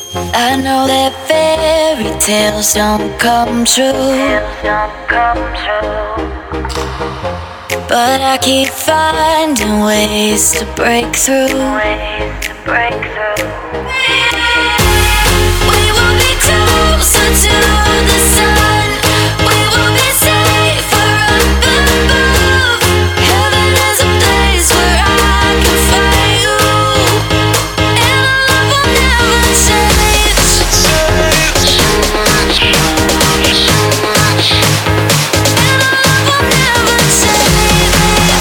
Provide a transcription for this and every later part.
I know that fairy tales don't come true, but I keep finding ways to break through. We will be closer to the sun. We will be safer up above. Heaven is a place where I can find you, and our love will never change. And our love will never change. And our love will never change.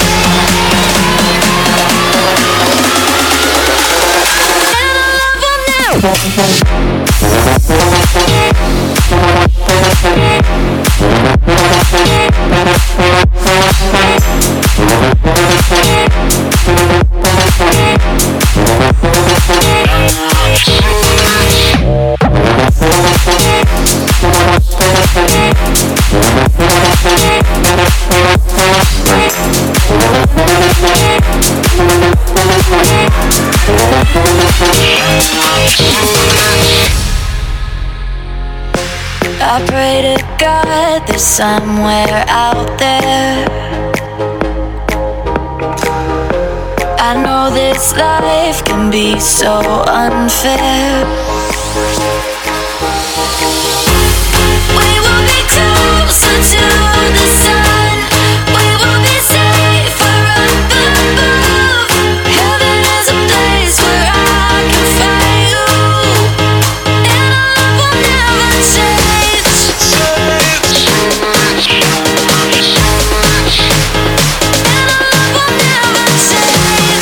I pray to God there's somewhere out there. I know this life can be so unfair. We will be closer to the sun. We will be safer up above. Heaven is a place where I can find you, and our love will never change. And our love will never change. And our love will never change.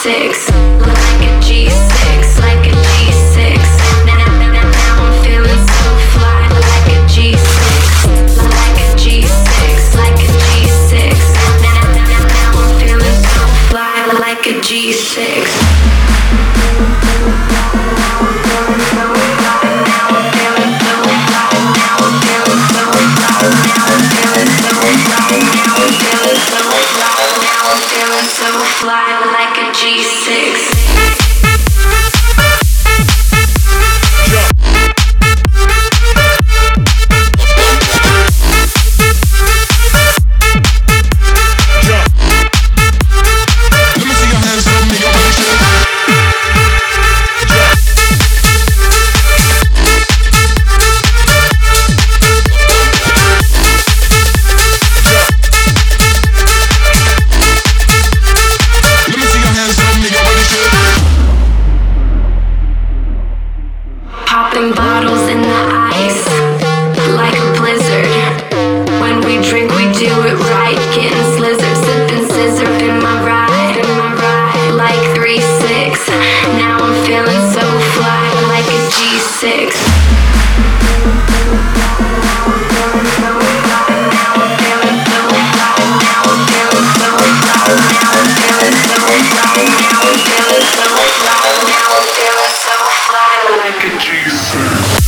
G6, like a G6, like a G6. Now I'm feeling so fly, like a G6, like a G6, like a G6. Now I'm feeling so fly, like a G6. So fly like a G6. Popping bottles in the ice, like a blizzard. When we drink, we do it right. Getting slizzard, sipping scissor in my ride, like 3-6. Now I'm feeling so fly, like a G6. Like a G6.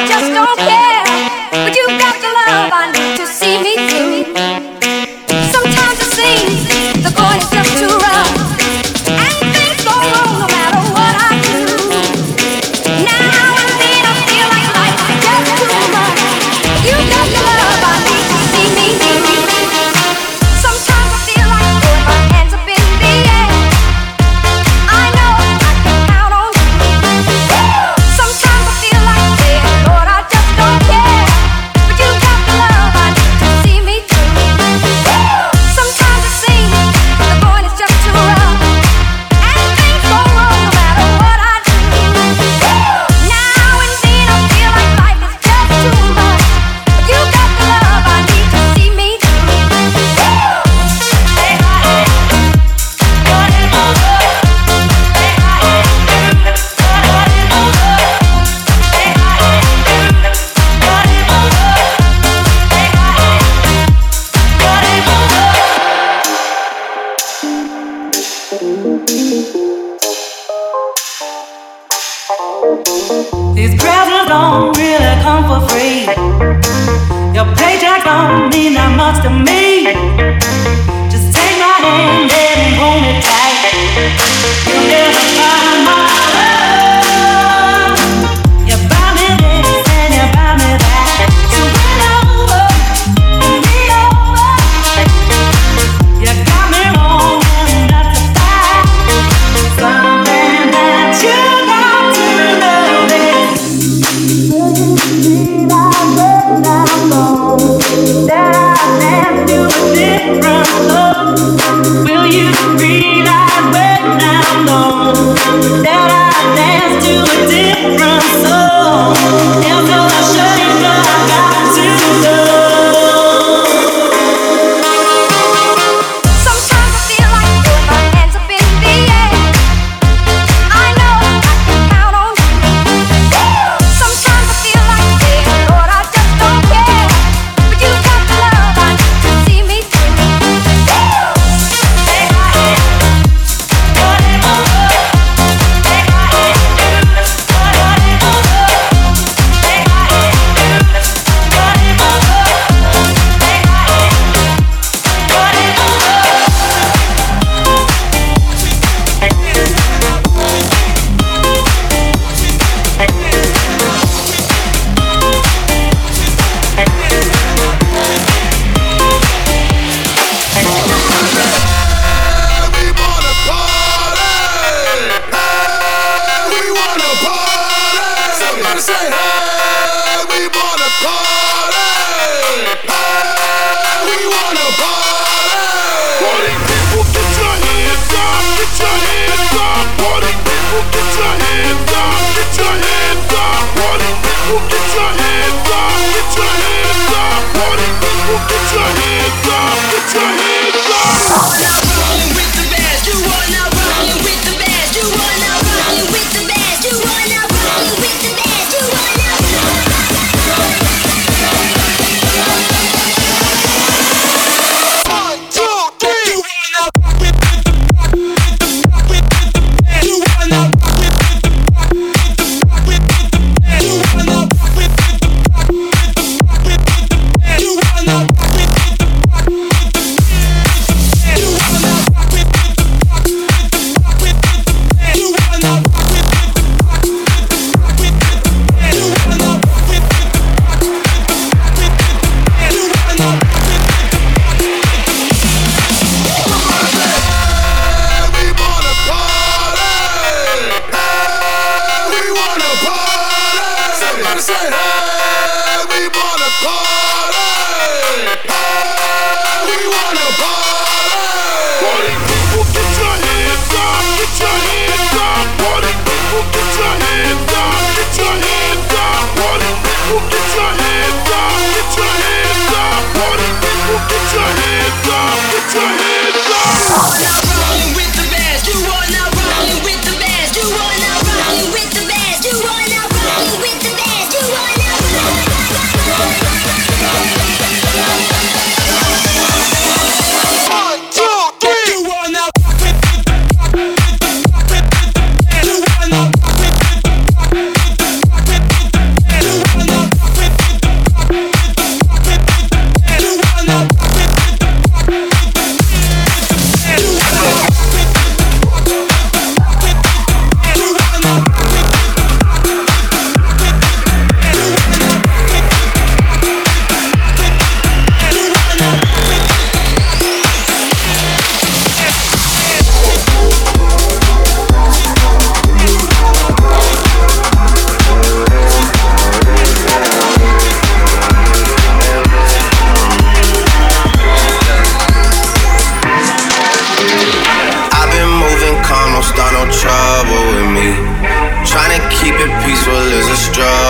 just don't care. But you got the love I need to see me through. Sometimes it seems the going is just too rough, and things go wrong no matter what I do. Now and then I feel like life is just too much. You got the love I need to see me through. Sometimes I feel like throwing my hands up in the air. I know I can count on you. Sometimes I feel like saying, Lord, I just don't care. But you got the love I need to see me through. Sometimes it seems the going is just too rough, and things go wrong no matter what I do. Now and then I feel like life is just too much. But you got the love I need to see me through. These presents don't really come for free. Your paycheck don't mean that much to me. Just take my hand and hold it tight. You'll never find my love. You buy me this and you buy me that. So win over and me over. You got me wrong and that's a fact. Something that you got to love it. That I never do a different love. Will you realize when I'm gone that I dance to a different song? It's no shame, but I got to love. Sometimes I feel like throwing my hands up in the air. I know I can count on you. Sometimes I feel like saying, Lord, I just don't care. But you got the love I need to see me through. You wanna roll with the best, you wanna roll with the best, you wanna roll.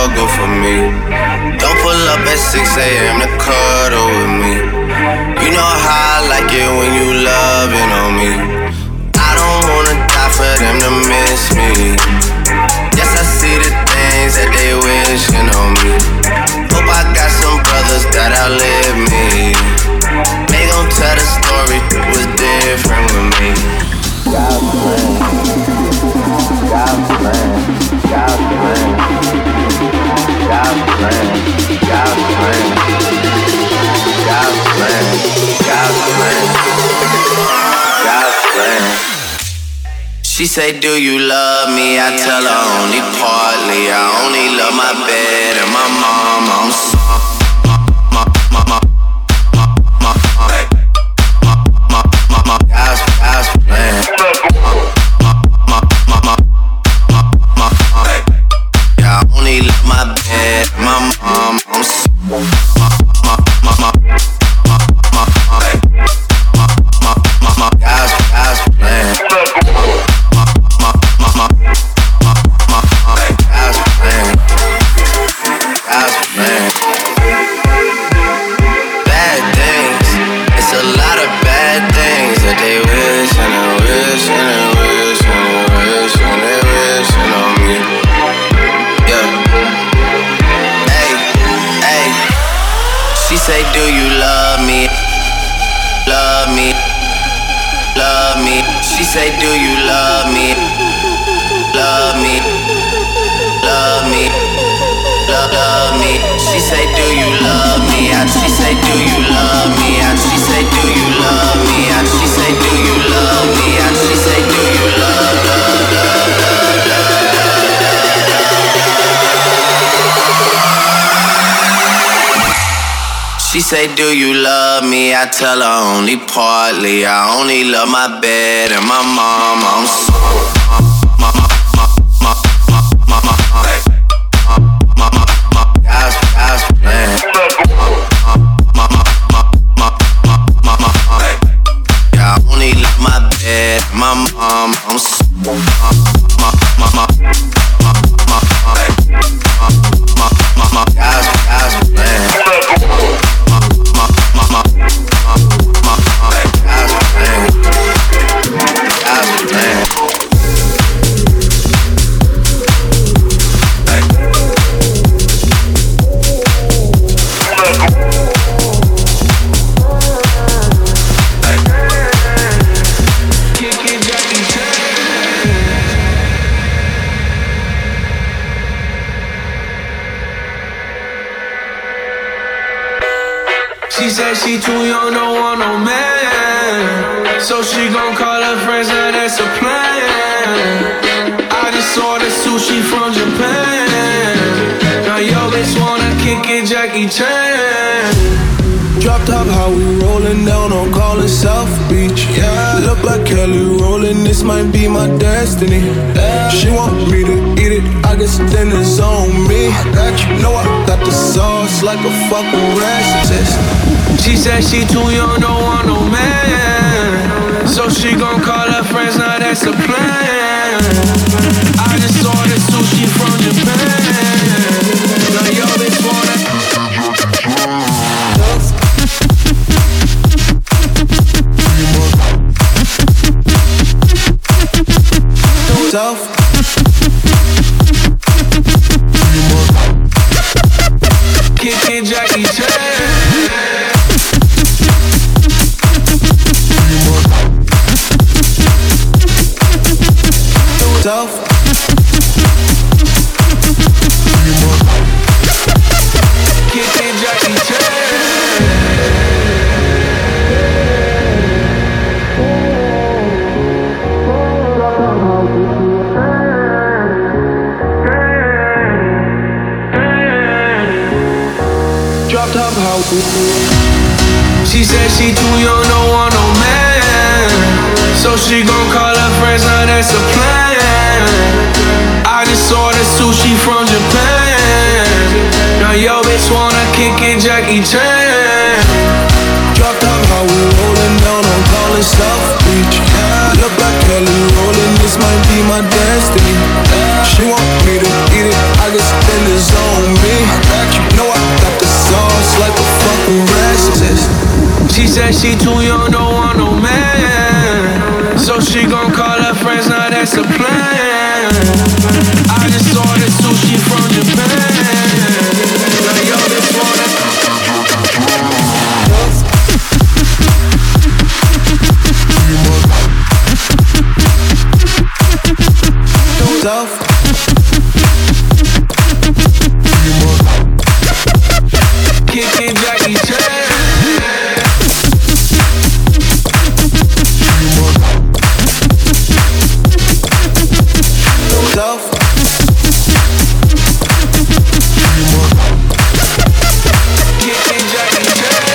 struggle for me. Don't pull up at 6 a.m. to cuddle with me. You know how I like it when you loving on me. I don't wanna die for them to miss me. Yes, I see the things that they wishing on me. Hope I got some brothers that outlive me. They gon' tell the story, it was different with me. God's plan, God's plan, God's plan, God's plan, God's plan, God's plan, God's plan, God's plan. She say, do you love me? I tell her only partly. I only love my bed and my mom. I'm sorry. She say, do you love me? I tell her only partly. I only love my bed and my mom. I'm sorry. She said she too young, don't want no man. So she gon' call her friends, now that's a plan. I just ordered sushi from Japan. Now yo bitch wanna kick it, Jackie Chan. Drop top, how we rollin' down on Collin South Beach. Yeah, look like Kelly rollin', this might be my destiny. She want me to eat it, I guess then it's on me. You know I got the sauce like a fucking racist. She said she too young, don't want no man. So she gon' call her friends, now that's a plan. I just ordered sushi from Japan. Now yo bitch wanna Tough. Kickin' Jackie Chan. Tough. Kickin' Jackie Chan. She said she too young, don't want no man. So she gon' call her friends, now that's a plan. I just ordered sushi from Japan. Now yo bitch wanna kick it, Jackie Chan. Drop top, how we rollin' down on Collin South Beach. Yeah, look like Kelly rollin', this might be my destiny. She want me to eat it, I guess then it's on said she too young, don't want no man. So she gon' call her friends, now that's the plan. I just ordered sushi from Japan. Like, yo, this one. Love. Kicking Jackie Chan. Love. Kicking Jackie Chan.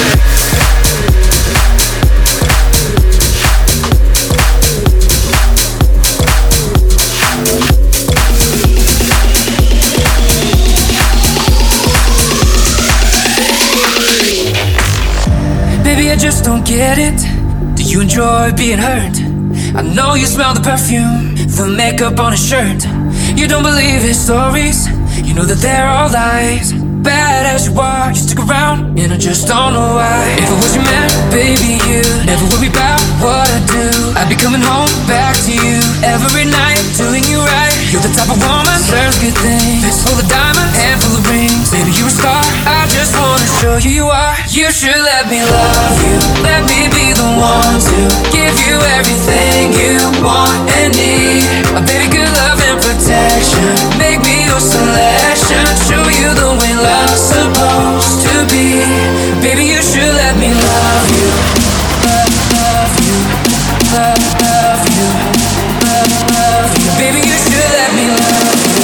Baby, I just don't get it. Do you enjoy being hurt? I know you smell the perfume, the makeup on his shirt. You don't believe his stories, you know that they're all lies. Bad as you are, you stick around, and I just don't know why. If I was your man, baby, you never worry about what I do. I'd be coming home back to you every night, doing you right. You're the type of woman, serves good things. Fist full of diamonds, handful of rings. Baby, you're a star, I just wanna show you you are. You should let me love you, let me be the one to give you everything you want and need. A baby, good love and protection, make me your selection. Show you the way love's supposed to be. Baby, you should let me love you, love you, love you, love you. Baby, you should let me love you.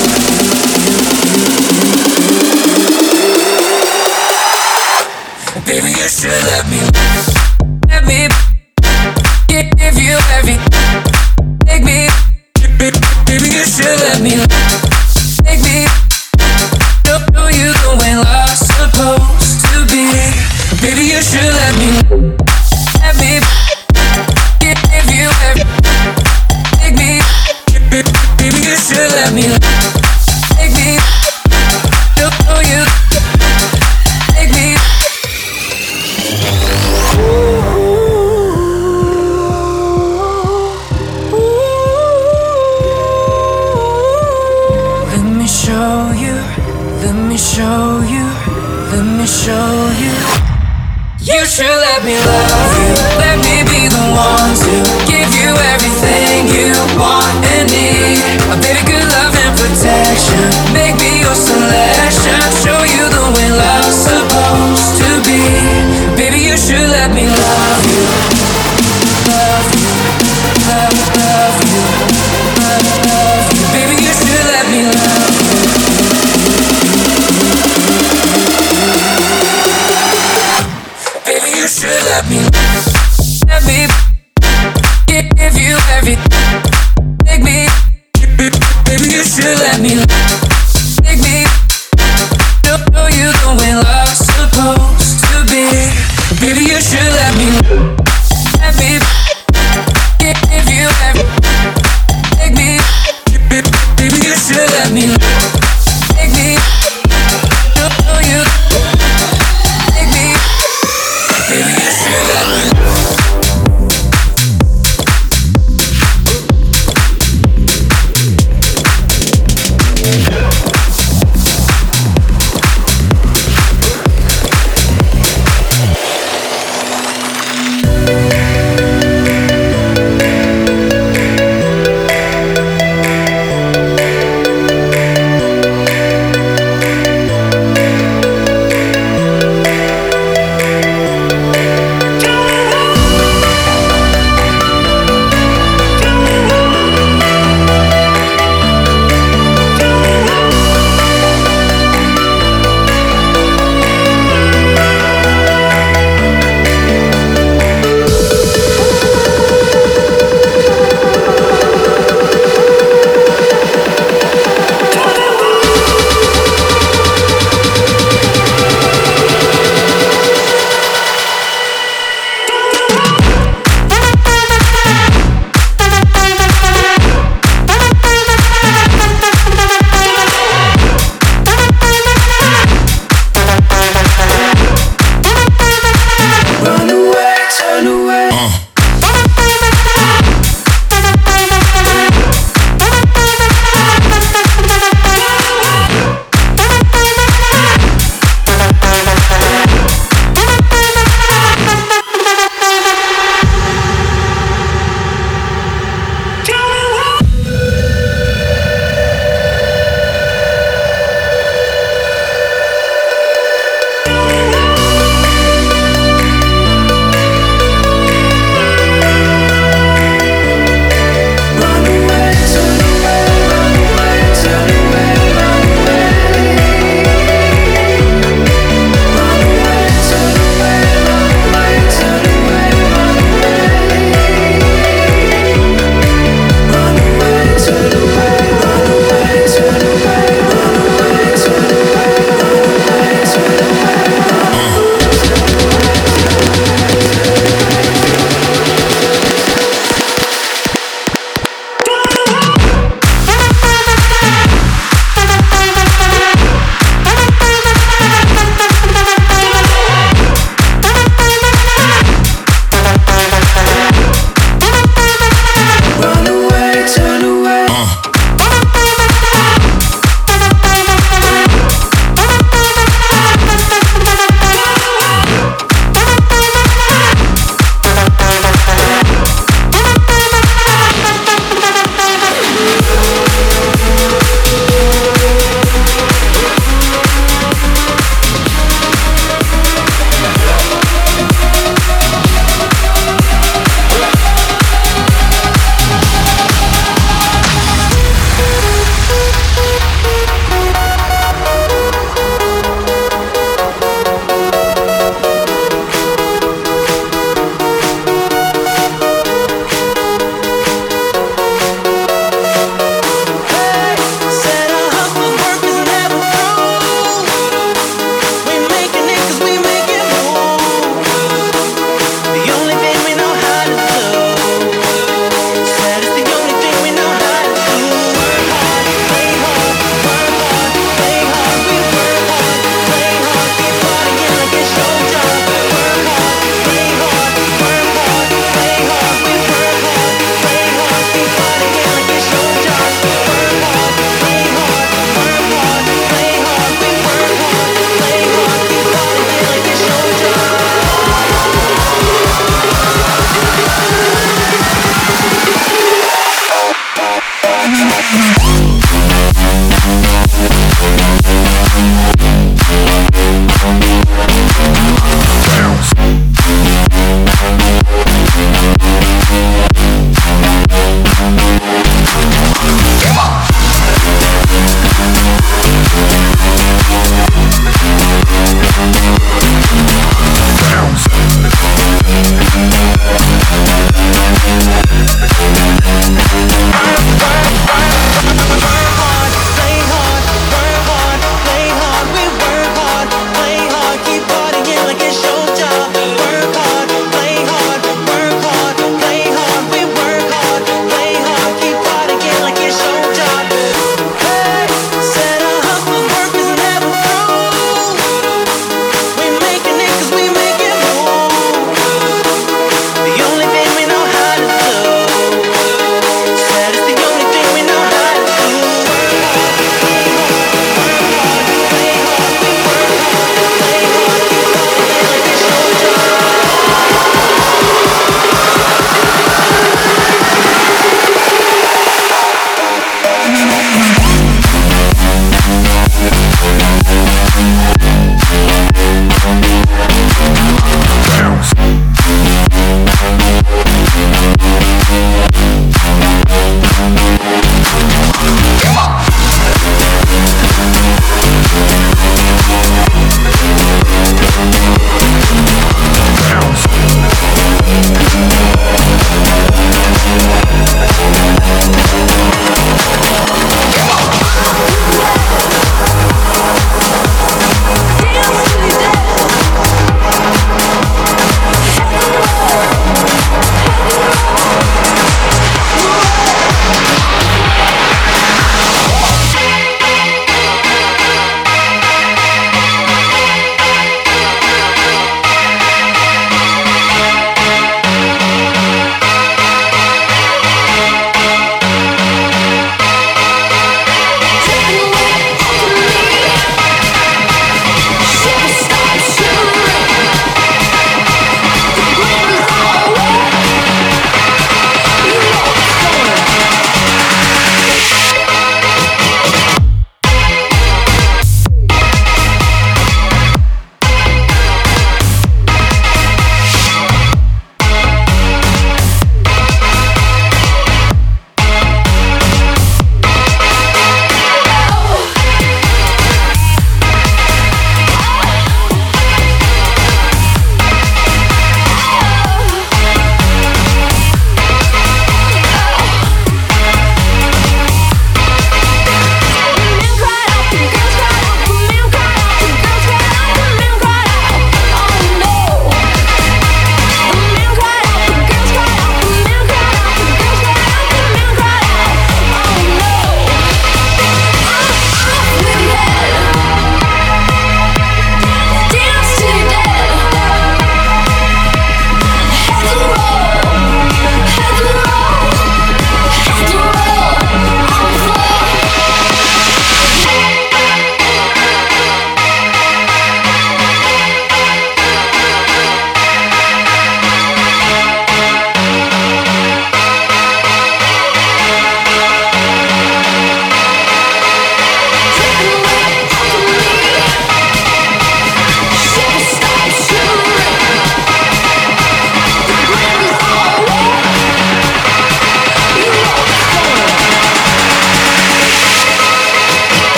Baby, you should let me give you every, make me. Baby, you should let me make me. Show you the way love's supposed to be. Baby, you should let me give you every, make me. Baby, you should let me make me. Show you, make me. Let me show you, let me show you, let me show you. You should let me love you, let me be the one to give you everything you want and need. A baby, good love and protection, make me your selection. Show you the way love's supposed to be. Baby, you should let me love you, love you, love you, love you. Baby, you should let me love you. Baby, you should let me give you every, make me. Baby, you should let me make me. Show you the way love's supposed to be. Baby, you should let me give you every, make me. Baby, you should let me make me. Show you, make me. Baby, you should let me.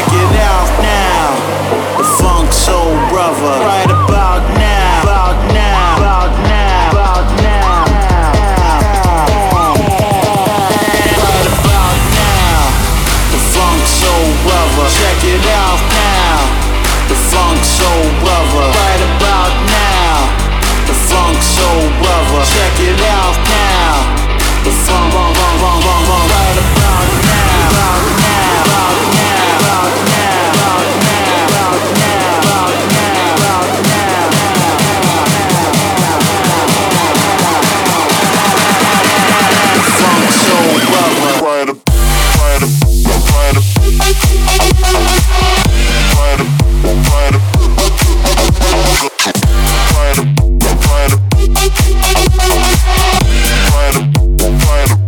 Check it out now. The Funk Soul Brother. Right about now. About now. About now. About now. Right about now. The Funk Soul Brother. Check it out now. The Funk Soul Brother. Right about now. The Funk Soul Brother. Check it out now. The funk, right about now. About now. About now. About now. About now. About now. About now. The Funk Soul Brother. Right up. Right up. Right up. Right up. Right up. Right up. Right up. Right up.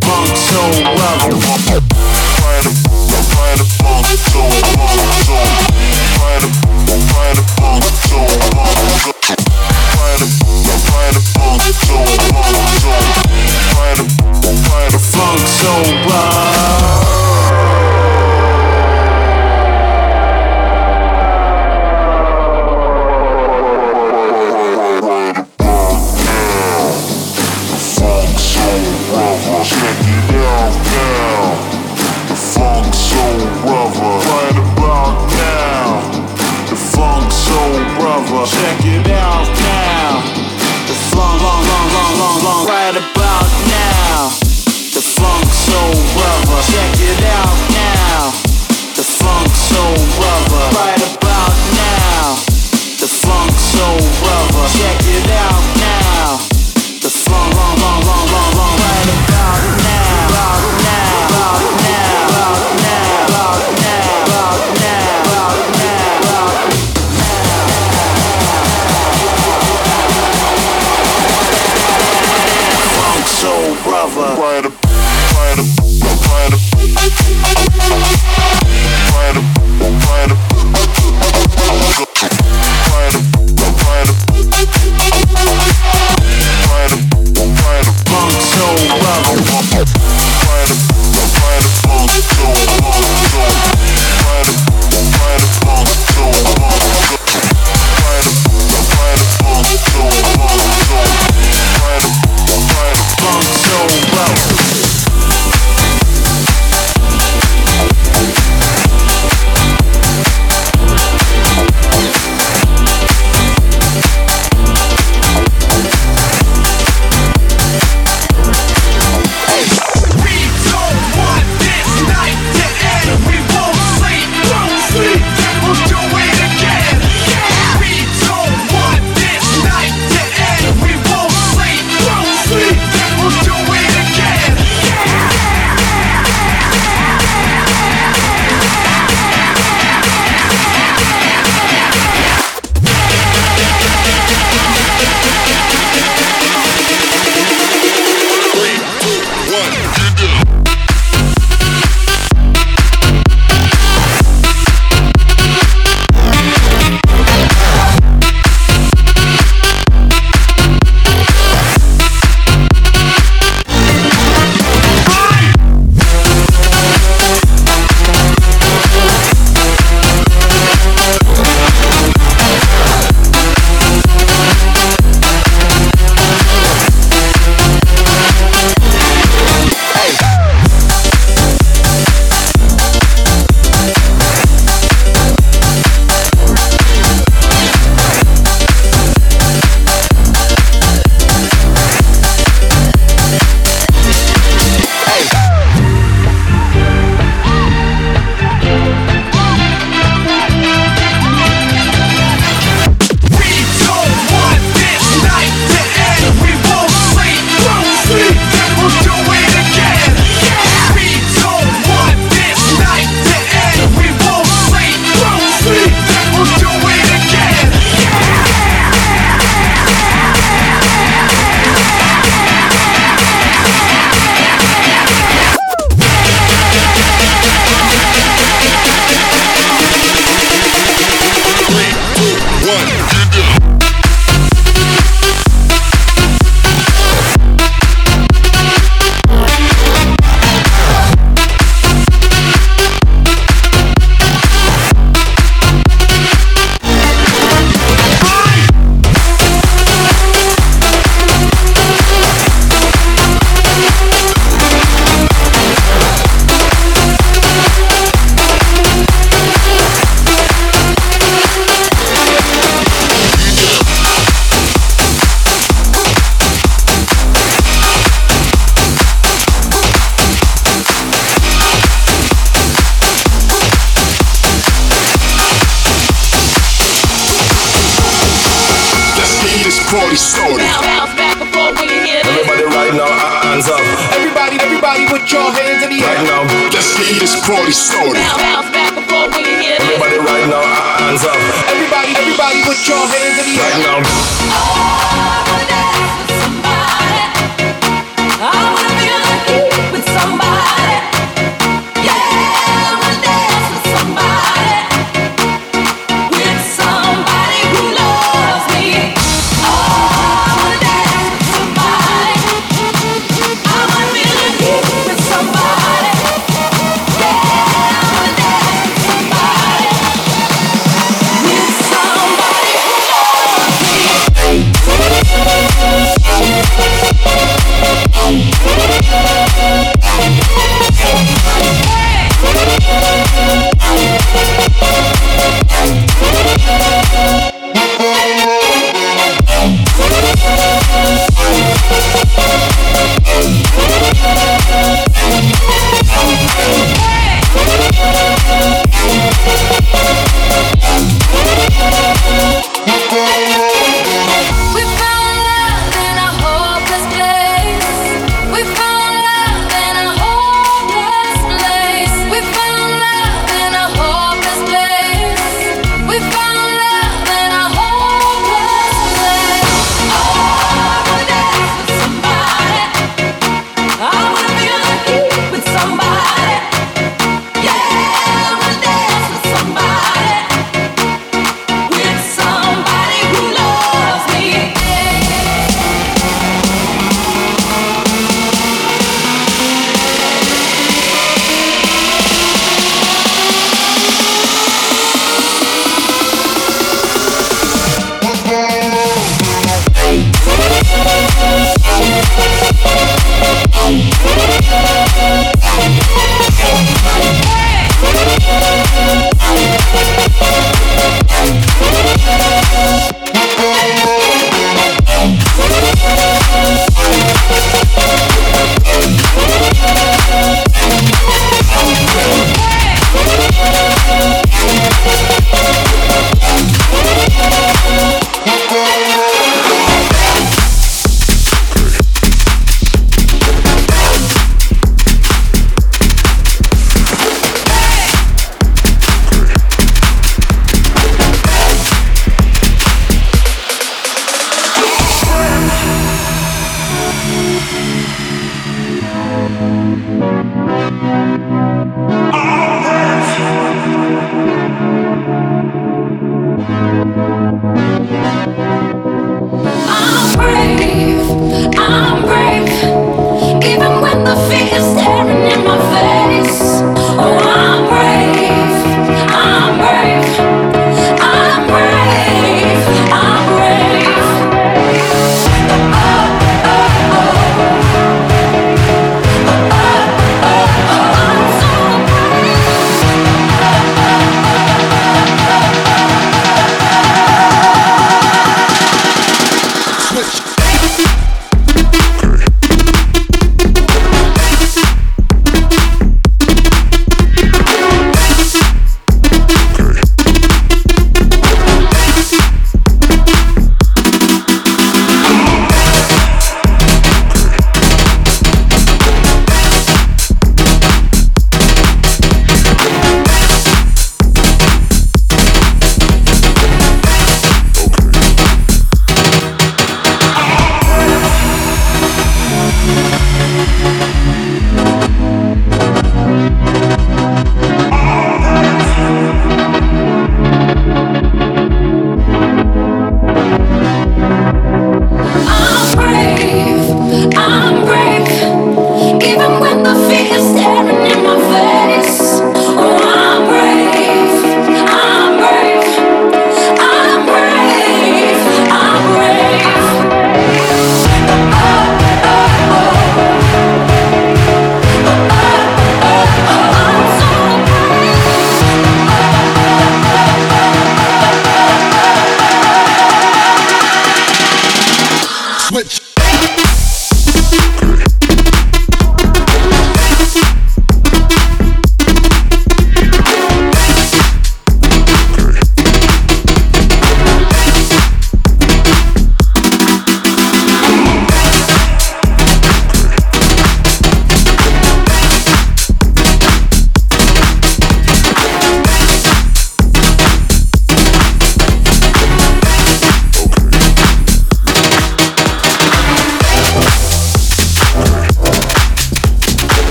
party started. Everybody right now, hands up. Everybody put your hands in the air. Right now, let's get this party started. Everybody right now, hands up. Everybody put your hands in the air. Right now. I wanna dance with somebody. I wanna feel the heat with somebody. Yeah, I wanna dance with somebody. With somebody who loves me. Oh, I wanna dance with somebody. I wanna feel the heat with somebody. Yeah, I wanna dance with somebody. With somebody who loves me.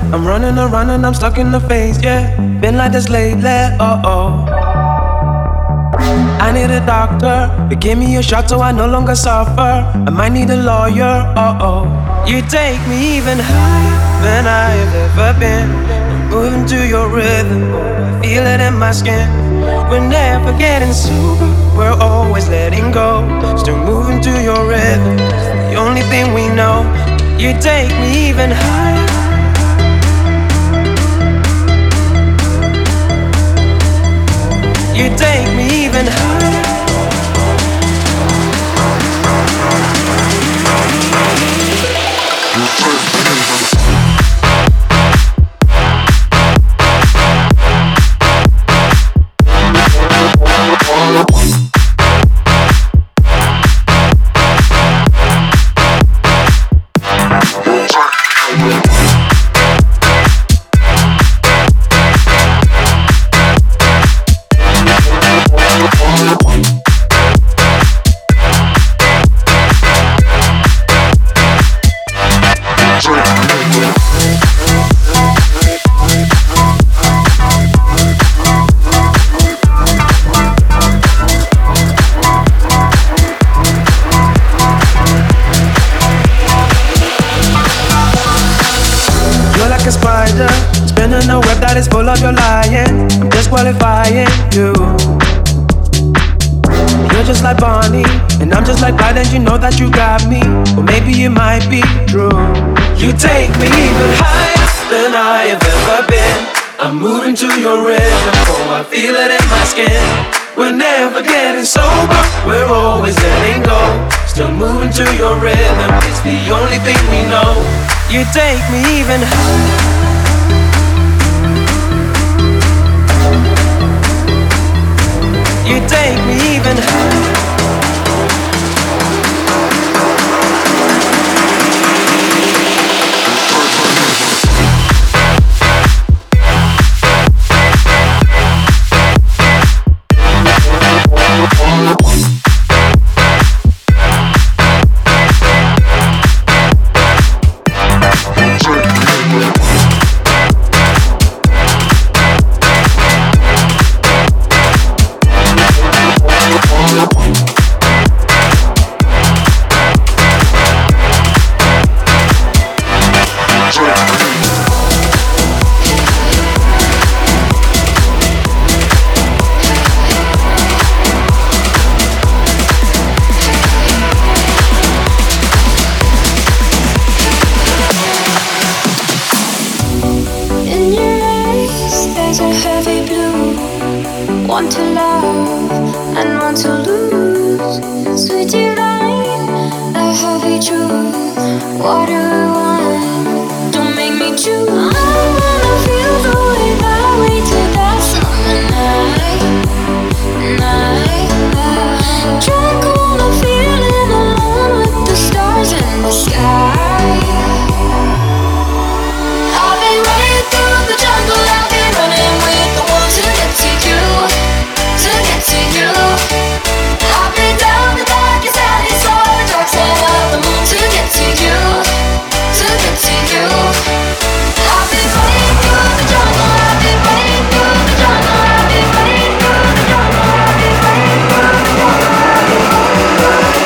I'm running around and I'm stuck in the phase, yeah. Been like this lately, oh. I need a doctor, but give me a shot so I no longer suffer. I might need a lawyer, oh. You take me even higher than I've ever been. I'm moving to your rhythm, I feel it in my skin. We're never getting sober, we're always letting go. Still moving to your rhythm, it's the only thing we know. You take me even higher. You take me even higher. Spinning a web that is full of your lying, disqualifying you. You're just like Bonnie, and I'm just like Clyde, and you know that you got me. Or maybe it might be true. You take me even higher than I have ever been. I'm moving to your rhythm, oh I feel it in my skin. We're never getting sober, we're always letting go. Still moving to your rhythm, it's the only thing we know. You take me even higher. You take me even higher. Want to love and want to lose. Sweet divine, a heavy truth. What do I want? Don't make me choose. I wanna feel the way that we did that summer night. Drunk on a feeling alone with the stars in the sky. I've been running through the jungle. I've been running with the one to get to you. To you, I've been down the darkest alley, saw the dark side of the moon to get to you, to get to you. I've been running through the jungle, I've been running through the jungle, I've been running through the jungle, I've been running through the jungle, I've been running through the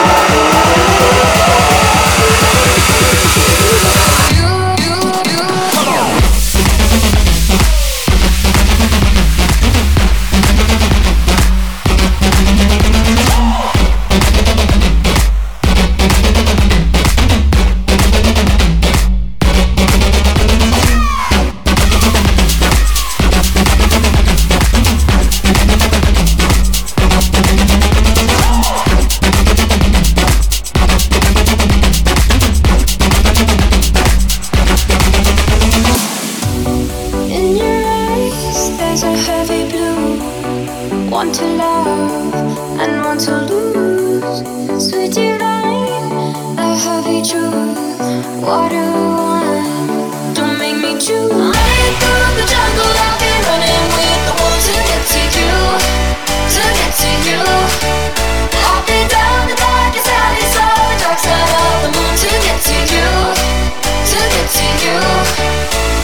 want to love and want to lose. Sweet divine, a heavy truth. What do I want? Don't make me choose. Running through the jungle, I've been running with the wolves to get to you, to get to you. I've been down the darkest alley, saw the dark side of the moon to get to you, to get to you.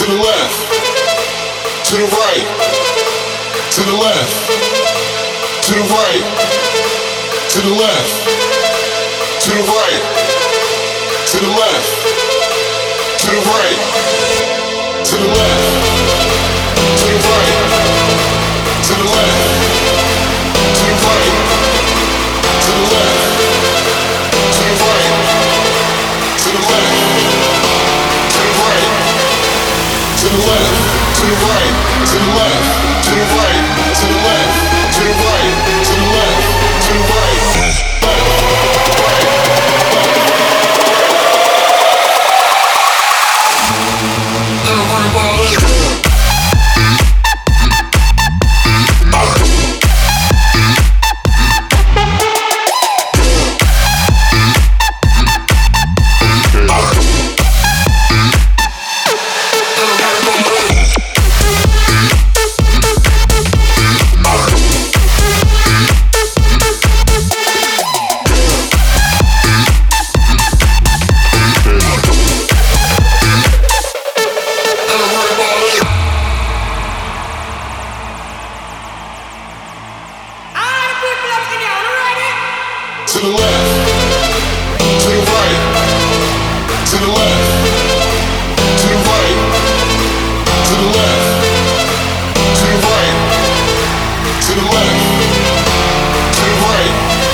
to the left, to the right, to the left, to the right, to the left, to the right, to the left, to the right, to the left, to the right, to the left, to the right, to the left, to the right, to the left, to the right, to the left, to the right, to the left, to the right, to the left, to the right, to the left, to the right, to the left, to the right, to the left, to the right, to the left, to the right, to the left, to the right.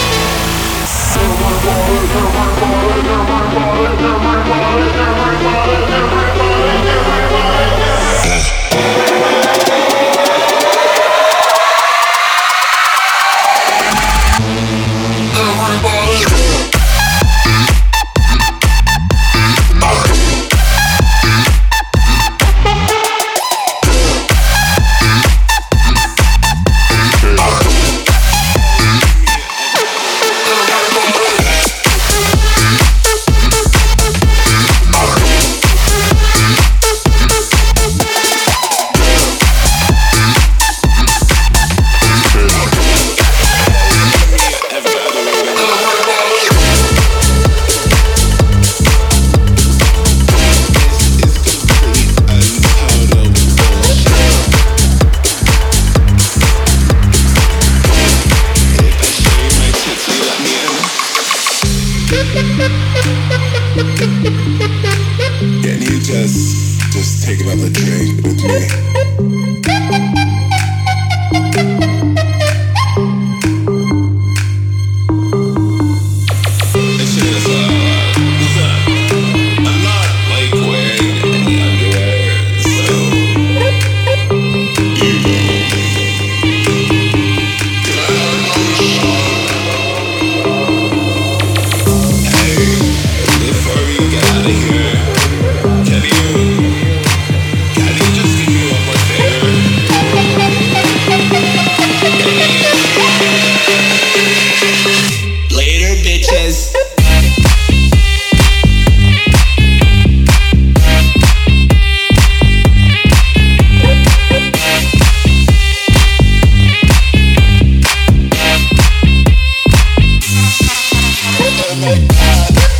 Can you just take another drink with me? This shit is I'm not like wearing any underwear, so hey, before we get out of here, can you just do me one more favor? Later, bitches. Oh my God.